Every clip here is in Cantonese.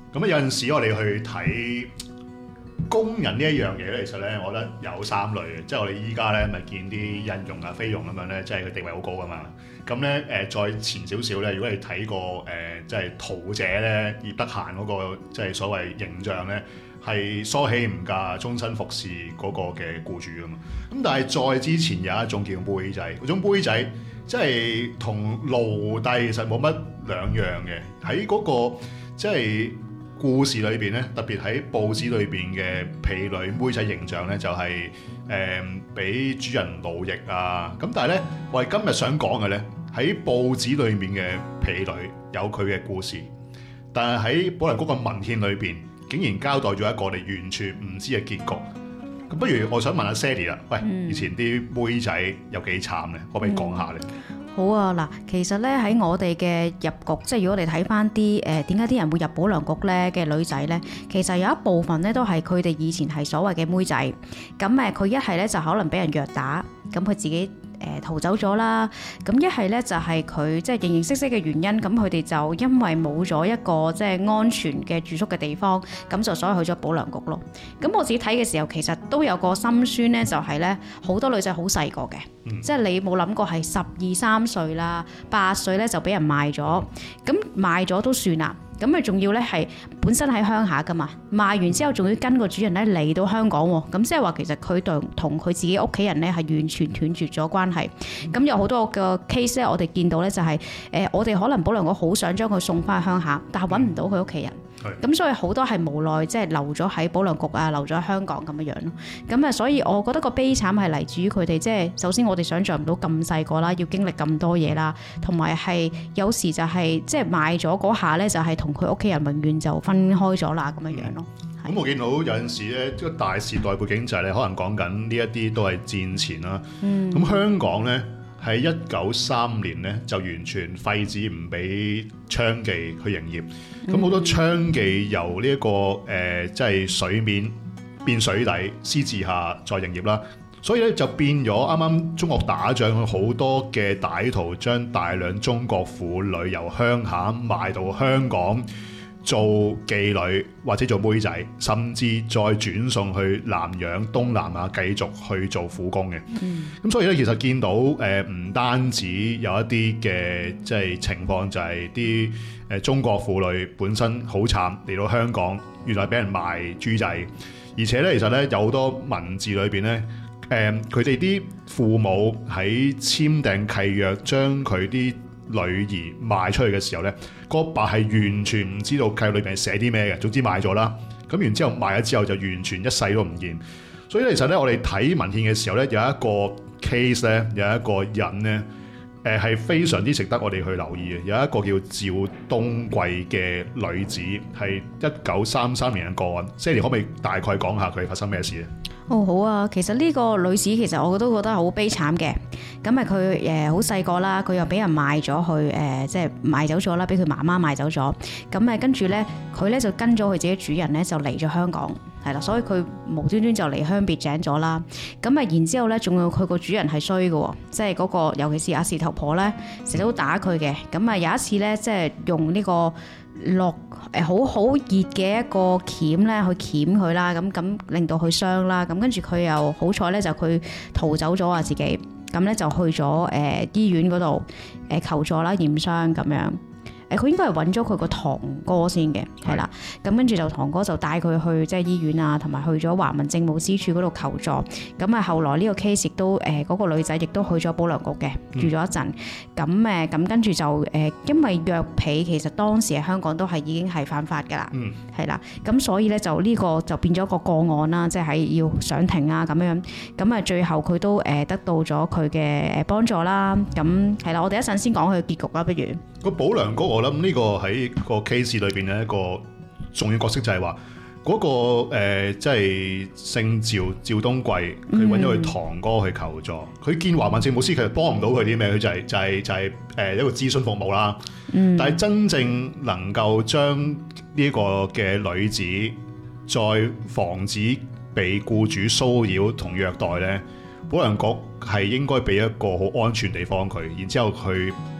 咁有陣時我哋去睇工人呢一樣嘢咧，其實咧，我覺得有三類嘅，即係我哋依家咧咪見啲印傭啊、菲傭咁樣咧，即係佢地位好高噶嘛。咁咧再前少少咧，如果你睇過即係桃姐咧葉德嫻嗰個即係所謂形象咧，係梳起唔嫁、終身服侍嗰個嘅僱主噶嘛。咁但係再之前有一種叫妹仔，嗰種妹仔即係同奴隸其實冇乜兩樣嘅，喺嗰個即係故事裏邊咧，特別喺報紙裏邊嘅婢女妹仔形象咧，就係俾主人奴役啊。咁但係咧，我哋今日想講嘅咧，喺報紙裏面嘅婢女有佢嘅故事，但係喺保良局嘅文獻裏邊，竟然交代咗一個我哋完全唔知嘅結局。咁不如我想問下 Sally 啦，喂，以前啲妹仔有幾慘咧？可唔可以講下咧？ 好啊，嗱，其實咧喺我哋嘅入局，即係如果我哋睇翻啲點解啲人會入保良局咧嘅女仔咧，其實有一部分咧都係佢哋以前係所謂嘅妹仔，咁佢一係咧就可能俾人虐打，咁佢自己逃走咗啦，咁一係咧就係佢即係形形色色嘅原因，咁佢哋就因為冇咗一個即係安全嘅住宿嘅地方，咁就所以去咗保良局咯。咁我自己睇嘅時候，其實都有個心酸咧，就係咧好多女仔好細個嘅，即係你冇諗過係12、13歲啦、8歲咧就俾人賣咗，咁賣咗都算啦。咁佢仲要咧係本身喺鄉下噶嘛，賣完之後仲要跟個主人咧嚟到香港喎，咁即係話其實佢同佢自己屋企人咧係完全斷絕咗關係。咁有好多個 case 咧，我哋見到咧就係我哋可能保良局好想將佢送翻去鄉下，但係揾唔到佢屋企人。咁所以好多係無奈，即係留咗喺保良局啊，留咗喺香港咁樣樣咯。咁所以我覺得個悲慘係嚟自於佢哋，即係首先我哋想象唔到咁細個啦，要經歷咁多嘢啦，同埋係有時就係即係賣咗嗰下咧，就係同佢屋企人永遠就分開咗啦咁樣樣咯。 咁我見到有陣時咧，即係大時代背景就係你可能講緊呢一啲都係戰前啦。咁香港咧喺1935年咧就完全廢止唔俾娼妓去營業。咁好多娼妓由呢一個即係水面變水底，私自下再營業啦。所以咧就變咗啱啱中國打仗，好多嘅歹徒將大量中國婦女由鄉下賣到香港做妓女或者做妹仔，甚至再轉送去南洋、東南亞繼續去做苦工嘅。咁所以咧，其實見到唔單止有一啲嘅即係情況，就係啲中國婦女本身好慘嚟到香港，原來俾人賣豬仔，而且咧其實咧有好多文字裏邊咧。佢哋啲父母喺簽訂契約將佢啲女兒賣出去嘅時候咧，個爸係完全唔知道契約裏邊係寫啲咩嘅，總之賣咗啦。咁然之後賣咗之後就完全一世都唔見。所以其實咧，我哋睇文獻嘅時候咧，有一個 case 咧，有一個人咧，係非常之值得我哋去留意嘅。有一個叫趙冬貴嘅女子，係1933年嘅個案。Sally 可唔可以大概講下佢發生咩事咧？ 好啊，其實呢個女子其實我都覺得好悲慘嘅。咁佢好細個啦，佢又俾人賣咗去即係賣走咗啦，俾佢媽媽賣走咗。咁跟住咧，佢咧就跟咗佢自己主人咧就嚟咗香港，係啦，所以佢無端端就離鄉別井咗啦。咁然之後咧，仲有佢個主人係衰嘅，即係嗰個尤其是阿事頭婆咧，成日都打佢嘅。咁有一次咧，即係用呢個落好好熱嘅一個鉗咧去鉗佢啦，咁令到佢傷啦，咁跟住佢又好彩咧就佢逃走咗啊自己，咁咧就去咗醫院嗰度求助啦驗傷咁樣。佢應該係揾咗佢個堂哥先嘅，係啦，咁跟住就堂哥就帶佢去即係醫院啊，同埋去咗華民政務司署嗰度求助。咁後來呢個 case 亦都嗰個女仔亦都去咗保良局嘅住咗一陣。咁跟住就因為虐婢其實當時喺香港都係已經係犯法㗎啦，係啦。咁所以咧就呢個就變咗個個案啦，即係要上庭啊咁樣。咁最後佢都得到咗佢嘅幫助啦。咁係啦，我哋一陣先講佢嘅結局啦，不如。 個保良局我諗呢個喺個 case 裏邊咧一個重要角色就係話嗰個即係姓趙冬貴，佢揾咗佢堂哥去求助，佢見華民政務司其實幫唔到佢啲咩，佢就係一個諮詢服務啦。但係真正能夠將呢個嘅女子再防止被僱主騷擾同虐待咧，保良局係應該俾一個好安全地方佢，然之後佢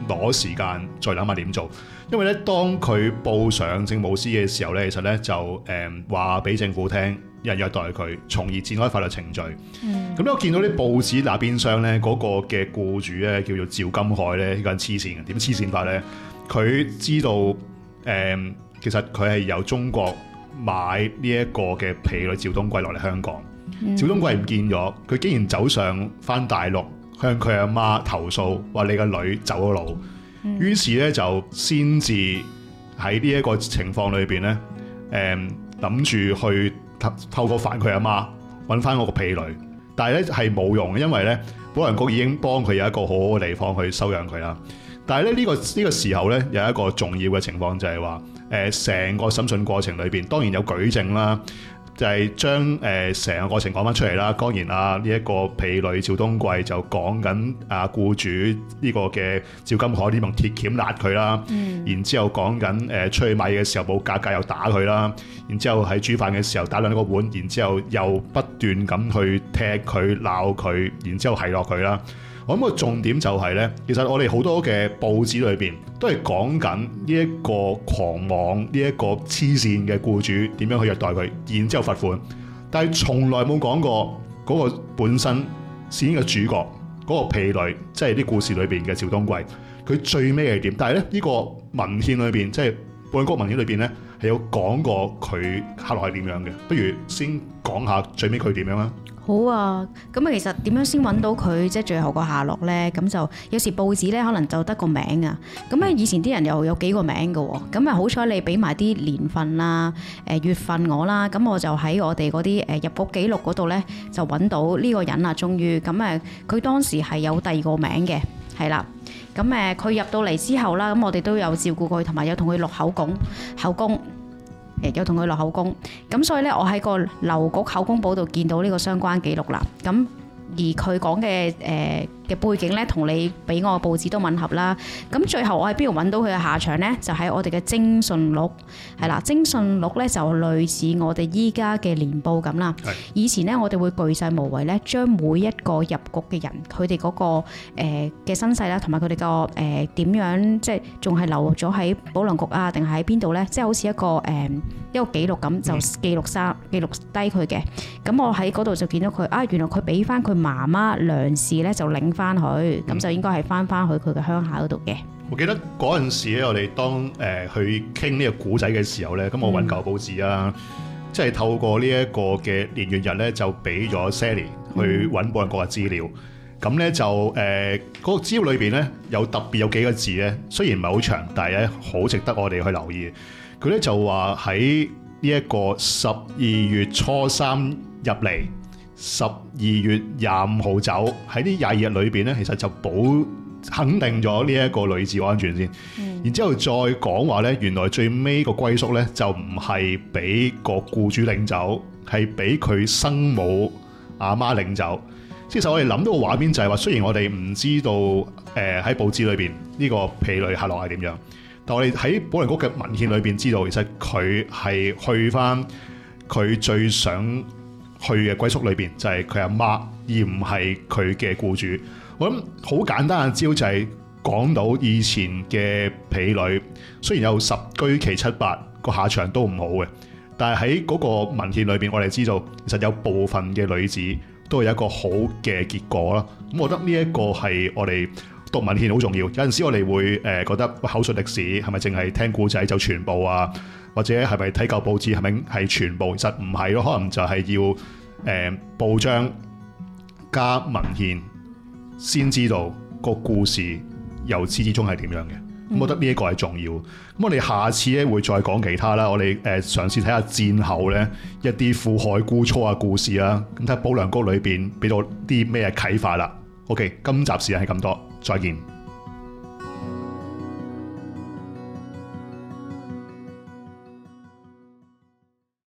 攞時間再諗下點做。因為咧，當佢報上政務司嘅時候咧，其實咧就話俾政府聽有人虐待佢，從而展開法律程序。咁我見到啲報紙那邊廂咧，嗰個嘅僱主咧叫做趙金海咧，呢個人黐線嘅，點黐線法咧？佢知道其實佢係由中國買呢一個嘅婢女趙東貴落嚟香港，趙東貴唔見咗，佢竟然走上翻大陸向佢阿媽投訴，話你個女走咗路。於是咧就先至喺呢一個情況裏邊咧，諗住去透過煩佢阿媽揾翻我個婢女，但係咧係冇用嘅，因為咧保良局已經幫佢有一個好好嘅地方去收養佢啦。但係咧呢個時候咧有一個重要嘅情況就係話，成個審訊過程裏邊當然有舉證啦。就係將成個過程講翻出嚟啦。當然呢一個婢女趙東貴就講緊僱主呢個嘅趙金海呢用鐵鉗辣佢啦。然之後講緊出去買嘢嘅時候冇價格又打佢啦。然之後喺煮飯嘅時候打爛個碗，然之後又不斷咁去踢佢鬧佢，然之後係落佢啦。我諗個重點就係咧，其實我哋好多嘅報紙裏邊都係講緊呢一個狂妄、呢一個黐線嘅僱主點樣去虐待佢，然之後罰款，但係從來冇講過嗰個本身事件嘅主角嗰個婢女，即係啲故事裏邊嘅趙東貴，佢最尾係點？但係咧呢個文獻裏邊，即係保良局文獻裏邊咧，係有講過佢下落係點樣嘅。不如先講下最尾佢點樣啦。 好啊，咁啊，其實點樣先揾到佢即係最後個下落呢？咁就有時報紙咧可能就得個名啊，咁咧以前啲人又有幾個名嘅喎，咁啊好彩你俾埋啲年份啦、月份我啦，咁我就喺我哋嗰啲入局記錄嗰度咧就揾到呢個人啦，終於咁佢當時係有第二個名嘅，係啦，咁佢入到嚟之後啦，咁我哋都有照顧佢，同埋有同佢錄口供。有同佢落口供，咁所以咧，我喺個郵局口供簿度見到呢個相關記錄啦。咁而佢講嘅嘅背景咧，同你俾我嘅報紙都吻合啦。咁最後我喺邊度揾到佢嘅下場咧？就喺我哋嘅徵信錄，係啦，徵信錄咧就類似我哋依家嘅年報咁啦。以前咧，我哋會巨細無遺咧，將每一個入局嘅人，佢哋嗰個嘅身世啦，同埋佢哋個點樣，即係仲係留咗喺保良局啊，定係喺邊度咧？即係好似一個記錄咁，就記錄低佢嘅。咁我喺嗰度就見到佢啊，原來佢俾翻佢媽媽梁氏咧，就領翻佢，咁就應該係翻去佢嘅鄉下嗰度嘅。 我記得嗰陣時咧，我哋當去傾呢個古仔嘅時候咧，咁我揾舊報紙啊，即係透過呢一個嘅年月日咧，就俾咗 Sally 去揾保良局嘅資料。咁咧就嗰個資料裏邊咧有特別有幾個字咧，雖然唔係好長，但係咧好值得我哋去留意。佢咧就話喺呢一個12月初3入嚟，12月25號走，喺呢22日裏邊咧，其實就肯定咗呢一個女子安全先。然之後再講話咧，原來最尾個歸宿咧就唔係俾個僱主領走，係俾佢生母阿媽領走。其實我哋諗到個畫面就係話，雖然我哋唔知道喺報紙裏邊呢個婢女下落係點樣。但我哋喺保良局嘅文獻裏邊知道，其實佢係去翻佢最想去嘅歸宿裏邊，就係佢阿媽，而唔係佢嘅僱主。我諗好簡單嘅招就係講到以前嘅婢女，雖然有十居其七八個下場都唔好嘅，但係喺嗰個文獻裏邊，我哋知道其實有部分嘅女子都有一個好嘅結果啦。咁我覺得呢一個係我哋讀文獻好重要，有陣時我哋會覺得口述歷史係咪淨係聽故仔就全部啊？或者係咪睇舊報紙係咪係全部？其實唔係咯，可能就係要報章加文獻先知道個故事由始至終係點樣嘅。咁我覺得呢一個係重要。咁我哋下次咧會再講其他啦。我哋嘗試睇下戰後咧一啲父害姑初嘅故事啦。咁睇下保良局裏邊俾到啲咩啟發啦。OK， 今集時間係咁多，再見。